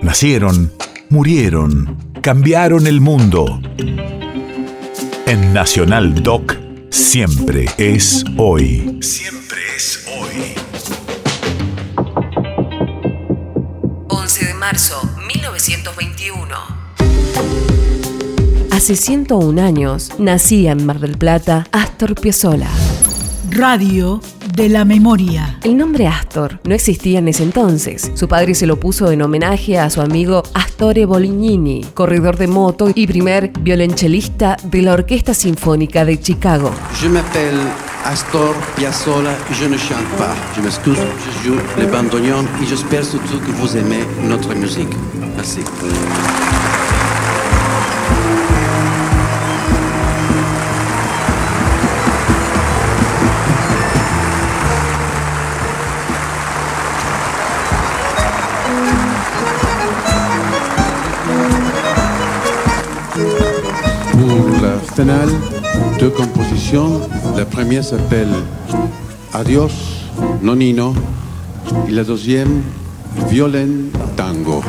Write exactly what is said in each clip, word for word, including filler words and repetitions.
Nacieron, murieron, cambiaron el mundo. En Nacional Doc, siempre es hoy. Siempre es hoy. once de marzo, mil novecientos veintiuno. Hace ciento un años nacía en Mar del Plata Astor Piazzolla. Radio de la memoria. El nombre Astor no existía en ese entonces. Su padre se lo puso en homenaje a su amigo Astore Bolognini, corredor de moto y primer violonchelista de la Orquesta Sinfónica de Chicago. Je m'appelle Astor Piazzolla et je ne chante pas. Je m'excuse, je joue le bandoneon et j'espère surtout que vous aimez notre musique. Merci. Pour la finale, deux compositions. La première s'appelle Adios, Nonino, et la deuxième, Violin Tango.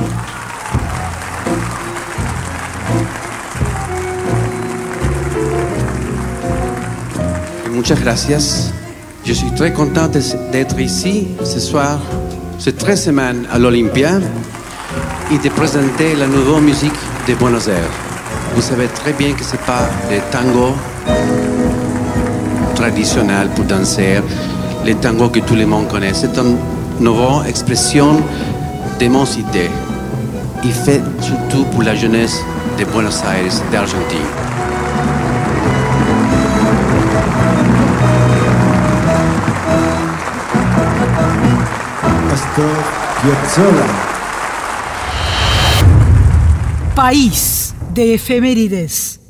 Muchas gracias. Je suis très content d'être ici ce soir, cette très semaine à l'Olympia, et de présenter la nouvelle musique de Buenos Aires. Vous savez très bien que ce n'est pas le tango traditionnel pour danser, le tango que tout le monde connaît. C'est une nouvelle expression de mon cité. Il fait surtout pour la jeunesse de Buenos Aires, d'Argentine. Astor Piazzolla. País de efemérides.